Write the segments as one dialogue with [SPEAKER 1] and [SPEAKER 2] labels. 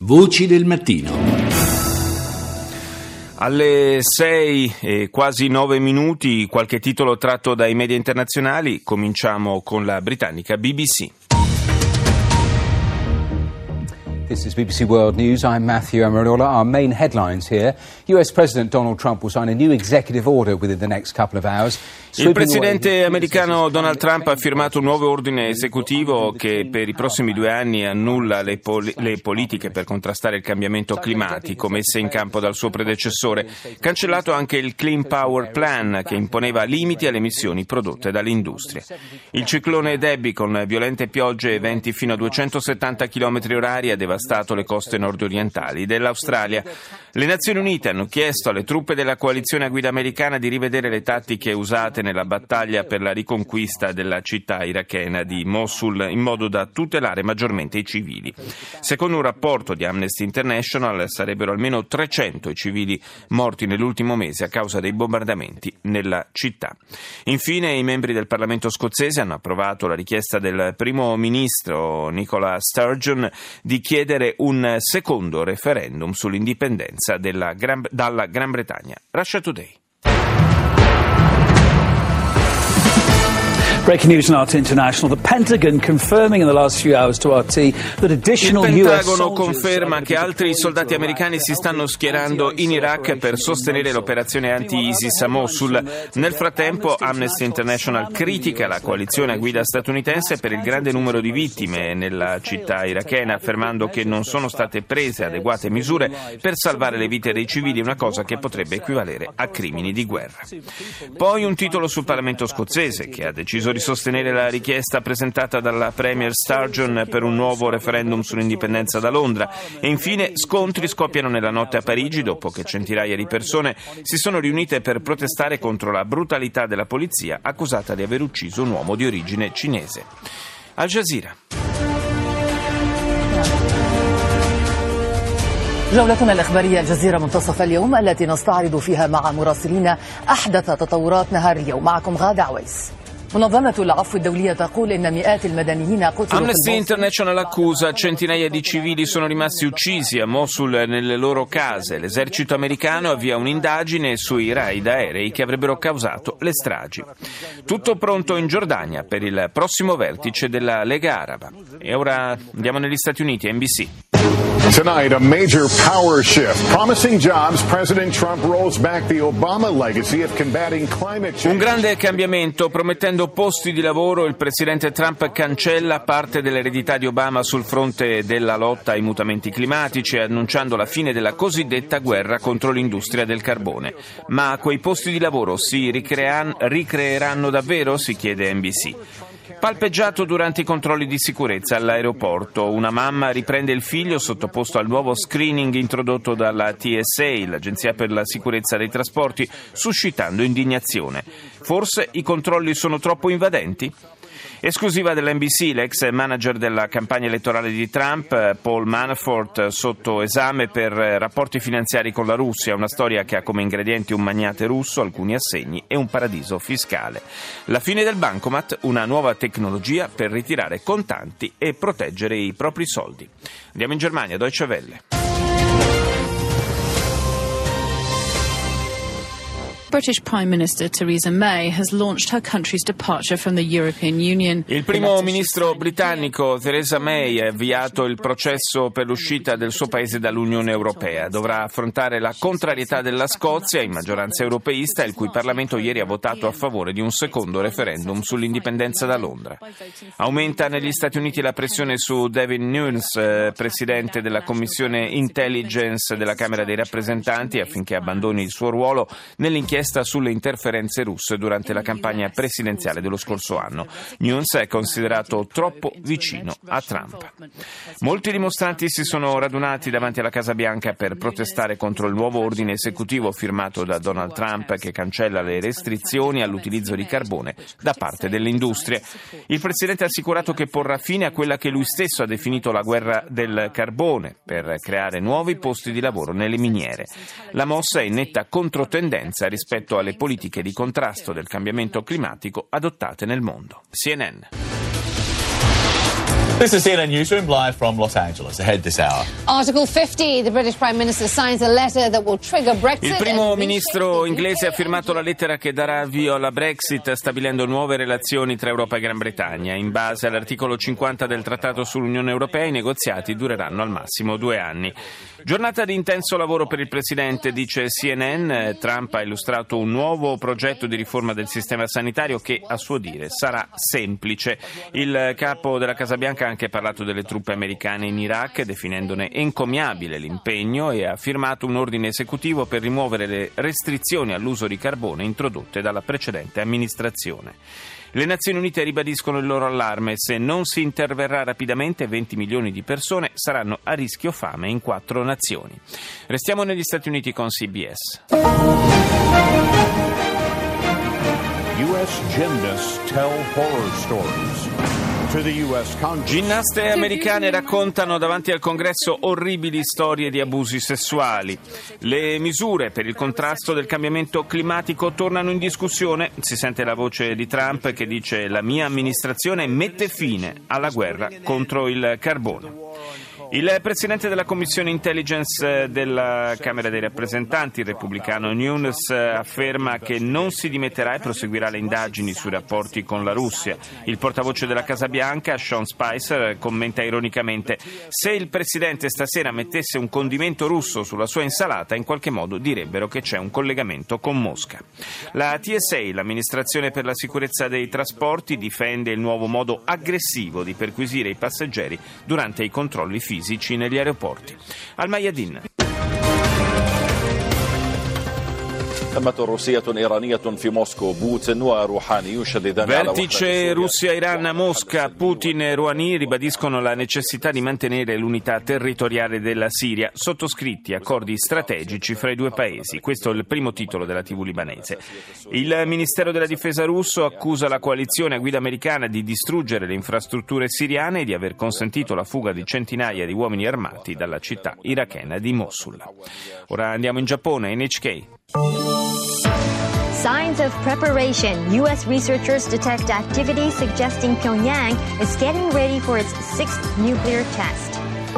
[SPEAKER 1] Voci del mattino.
[SPEAKER 2] Alle 6 e quasi 9 minuti, qualche titolo tratto dai media internazionali. Cominciamo con la britannica BBC.
[SPEAKER 3] This is BBC World News. I'm Matthew Amarola. Our main headlines here. US President Donald Trump will sign a new executive order within the next couple of hours.
[SPEAKER 2] Il presidente americano Donald Trump ha firmato un nuovo ordine esecutivo che per i prossimi 2 anni annulla le politiche per contrastare il cambiamento climatico messe in campo dal suo predecessore. Cancellato anche il Clean Power Plan che imponeva limiti alle emissioni prodotte dall'industria. Il ciclone Debbie, con violente piogge e venti fino a 270 km/h, ha devastato le coste nord-orientali dell'Australia. Le Nazioni Unite hanno chiesto alle truppe della coalizione a guida americana di rivedere le tattiche usate nella battaglia per la riconquista della città irachena di Mosul, in modo da tutelare maggiormente i civili. Secondo un rapporto di Amnesty International, sarebbero almeno 300 i civili morti nell'ultimo mese a causa dei bombardamenti nella città. Infine, i membri del Parlamento scozzese hanno approvato la richiesta del primo ministro Nicola Sturgeon di chiedere un secondo referendum sull'indipendenza dalla Gran Bretagna. Russia Today.
[SPEAKER 4] Breaking news on RT International. The Pentagon confirming in the last few hours to RT that additional
[SPEAKER 2] Il Pentagono conferma che altri soldati americani si stanno schierando in Iraq per sostenere l'operazione anti-ISIS a Mosul. Nel frattempo, Amnesty International critica la coalizione a guida statunitense per il grande numero di vittime nella città irachena, affermando che non sono state prese adeguate misure per salvare le vite dei civili, una cosa che potrebbe equivalere a crimini di guerra. Poi un titolo sul Parlamento scozzese, che ha deciso di sostenere la richiesta presentata dalla Premier Sturgeon per un nuovo referendum sull'indipendenza da Londra. E infine scontri scoppiano nella notte a Parigi dopo che centinaia di persone si sono riunite per protestare contro la brutalità della polizia accusata di aver ucciso un uomo di origine cinese. Al Jazeera.
[SPEAKER 5] جولتنا الإخبارية الجزيرة منتصف اليوم التي نستعرض فيها مع مراسلين أحدث تطورات نهار اليوم. معكم غادة عويس.
[SPEAKER 2] Amnesty International accusa centinaia di civili sono rimasti uccisi a Mosul nelle loro case. L'esercito americano avvia un'indagine sui raid aerei che avrebbero causato le stragi. Tutto pronto in Giordania per il prossimo vertice della Lega Araba. E ora andiamo negli Stati Uniti, NBC.
[SPEAKER 6] Tonight, a major power shift. Promising jobs, President Trump rolls back the Obama legacy of combating climate change.
[SPEAKER 2] Un grande cambiamento, promettendo posti di lavoro, il presidente Trump cancella parte dell'eredità di Obama sul fronte della lotta ai mutamenti climatici, annunciando la fine della cosiddetta guerra contro l'industria del carbone. Ma quei posti di lavoro si ricreeranno davvero? Si chiede NBC. Palpeggiato durante i controlli di sicurezza all'aeroporto, una mamma riprende il figlio sottoposto al nuovo screening introdotto dalla TSA, l'Agenzia per la Sicurezza dei Trasporti, suscitando indignazione. Forse i controlli sono troppo invadenti? Esclusiva dell'NBC, l'ex manager della campagna elettorale di Trump, Paul Manafort, sotto esame per rapporti finanziari con la Russia, una storia che ha come ingredienti un magnate russo, alcuni assegni e un paradiso fiscale. La fine del bancomat, una nuova tecnologia per ritirare contanti e proteggere i propri soldi. Andiamo in Germania, Deutsche Welle.
[SPEAKER 7] British Prime Minister Theresa May has launched her country's departure from the European Union.
[SPEAKER 2] Il primo ministro britannico Theresa May ha avviato il processo per l'uscita del suo paese dall'Unione Europea. Dovrà affrontare la contrarietà della Scozia, in maggioranza europeista, il cui Parlamento ieri ha votato a favore di un secondo referendum sull'indipendenza da Londra. Aumenta negli Stati Uniti la pressione su Devin Nunes, presidente della Commissione Intelligence della Camera dei Rappresentanti, affinché abbandoni il suo ruolo nell'inchiesta sulle interferenze russe durante la campagna presidenziale dello scorso anno. Nunes è considerato troppo vicino a Trump. Molti dimostranti si sono radunati davanti alla Casa Bianca per protestare contro il nuovo ordine esecutivo firmato da Donald Trump che cancella le restrizioni all'utilizzo di carbone da parte delle industrie. Il presidente ha assicurato che porrà fine a quella che lui stesso ha definito la guerra del carbone per creare nuovi posti di lavoro nelle miniere. La mossa è in netta controtendenza rispetto alle politiche di contrasto del cambiamento climatico adottate nel mondo. CNN.
[SPEAKER 1] This is CNN Newsroom live from Los Angeles. Ahead this hour.
[SPEAKER 8] Article 50, the British Prime Minister signs a letter that will trigger Brexit.
[SPEAKER 2] Il primo ministro inglese ha firmato la lettera che darà avvio alla Brexit, stabilendo nuove relazioni tra Europa e Gran Bretagna. In base all'articolo 50 del Trattato sull'Unione Europea, i negoziati dureranno al massimo 2 anni. Giornata di intenso lavoro per il presidente, dice CNN. Trump ha illustrato un nuovo progetto di riforma del sistema sanitario che, a suo dire, sarà semplice. Il capo della Casa Bianca ha anche parlato delle truppe americane in Iraq, definendone encomiabile l'impegno, e ha firmato un ordine esecutivo per rimuovere le restrizioni all'uso di carbone introdotte dalla precedente amministrazione. Le Nazioni Unite ribadiscono il loro allarme: se non si interverrà rapidamente 20 milioni di persone saranno a rischio fame in 4 nazioni. Restiamo negli Stati Uniti con CBS.
[SPEAKER 6] U.S. gymnasts tell horror stories.
[SPEAKER 2] Ginnaste americane raccontano davanti al Congresso orribili storie di abusi sessuali. Le misure per il contrasto del cambiamento climatico tornano in discussione. Si sente la voce di Trump che dice: la mia amministrazione mette fine alla guerra contro il carbone. Il presidente della Commissione Intelligence della Camera dei Rappresentanti, il repubblicano Nunes, afferma che non si dimetterà e proseguirà le indagini sui rapporti con la Russia. Il portavoce della Casa Bianca, Sean Spicer, commenta ironicamente: se il presidente stasera mettesse un condimento russo sulla sua insalata, in qualche modo direbbero che c'è un collegamento con Mosca. La TSA, l'amministrazione per la sicurezza dei trasporti, difende il nuovo modo aggressivo di perquisire i passeggeri durante i controlli fisici negli aeroporti. Al Mayadin. Vertice Russia-Iran a Mosca. Putin e Rouhani ribadiscono la necessità di mantenere l'unità territoriale della Siria, sottoscritti accordi strategici fra i due paesi. Questo è il primo titolo della TV libanese. Il Ministero della Difesa russo accusa la coalizione a guida americana di distruggere le infrastrutture siriane e di aver consentito la fuga di centinaia di uomini armati dalla città irachena di Mosul. Ora andiamo in Giappone, NHK.
[SPEAKER 9] Signs of preparation. U.S. researchers detect activity suggesting Pyongyang is getting ready for its 6th nuclear test.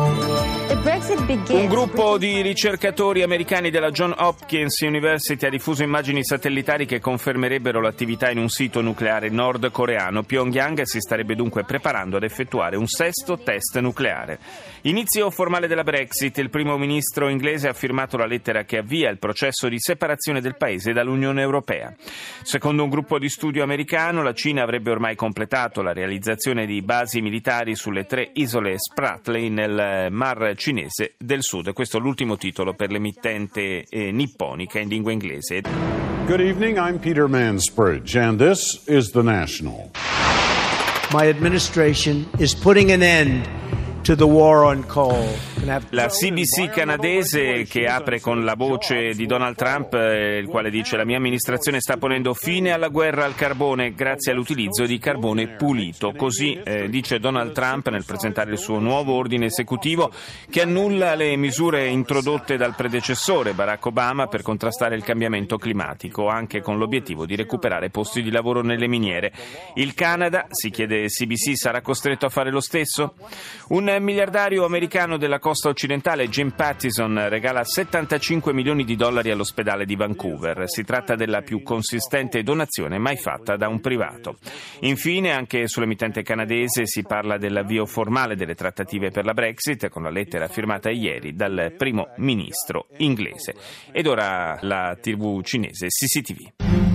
[SPEAKER 2] Un gruppo di ricercatori americani della Johns Hopkins University ha diffuso immagini satellitari che confermerebbero l'attività in un sito nucleare nordcoreano. Pyongyang si starebbe dunque preparando ad effettuare un 6º test nucleare. Inizio formale della Brexit. Il primo ministro inglese ha firmato la lettera che avvia il processo di separazione del paese dall'Unione Europea. Secondo un gruppo di studio americano, la Cina avrebbe ormai completato la realizzazione di basi militari sulle 3 isole Spratly nel Mar Cinese del Sud. Questo è l'ultimo titolo per l'emittente nipponica in lingua inglese.
[SPEAKER 6] Good evening, I'm Peter Mansbridge, and this is The National.
[SPEAKER 10] My administration is putting an end to the war on coal.
[SPEAKER 2] La CBC canadese, che apre con la voce di Donald Trump, il quale dice: la mia amministrazione sta ponendo fine alla guerra al carbone grazie all'utilizzo di carbone pulito. Così dice Donald Trump nel presentare il suo nuovo ordine esecutivo che annulla le misure introdotte dal predecessore Barack Obama per contrastare il cambiamento climatico, anche con l'obiettivo di recuperare posti di lavoro nelle miniere. Il Canada, si chiede CBC, sarà costretto a fare lo stesso? Un miliardario americano della costa occidentale, Jim Pattison, regala $75 milioni all'ospedale di Vancouver. Si tratta della più consistente donazione mai fatta da un privato. Infine, anche sull'emittente canadese si parla dell'avvio formale delle trattative per la Brexit, con la lettera firmata ieri dal primo ministro inglese. Ed ora la TV cinese CCTV.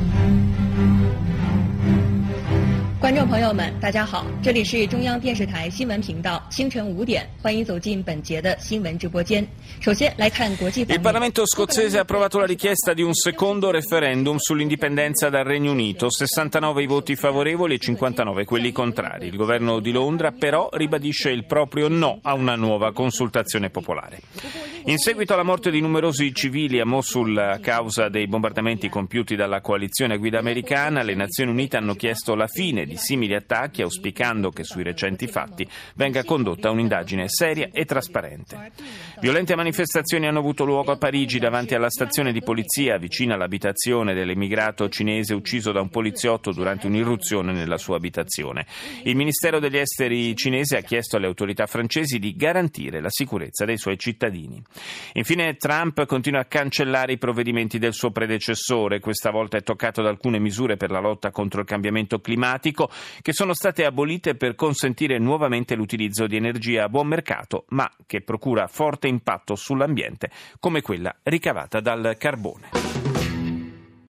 [SPEAKER 11] 观众朋友们，大家好，这里是中央电视台新闻频道，清晨5点，欢迎走进本节的新闻直播间。首先来看国际方面。
[SPEAKER 2] Il Parlamento scozzese ha approvato la richiesta di un secondo referendum sull'indipendenza dal Regno Unito, 69 i voti favorevoli e 59 quelli contrari. Il governo di Londra però ribadisce il proprio no a una nuova consultazione popolare. In seguito alla morte di numerosi civili a Mosul a causa dei bombardamenti compiuti dalla coalizione a guida americana, le Nazioni Unite hanno chiesto la fine di simili attacchi, auspicando che sui recenti fatti venga condotta un'indagine seria e trasparente. Violente manifestazioni hanno avuto luogo a Parigi davanti alla stazione di polizia vicina all'abitazione dell'immigrato cinese ucciso da un poliziotto durante un'irruzione nella sua abitazione. Il Ministero degli Esteri cinese ha chiesto alle autorità francesi di garantire la sicurezza dei suoi cittadini. Infine Trump continua a cancellare i provvedimenti del suo predecessore. Questa volta è toccato da alcune misure per la lotta contro il cambiamento climatico che sono state abolite per consentire nuovamente l'utilizzo di energia a buon mercato, ma che procura forte impatto sull'ambiente, come quella ricavata dal carbone.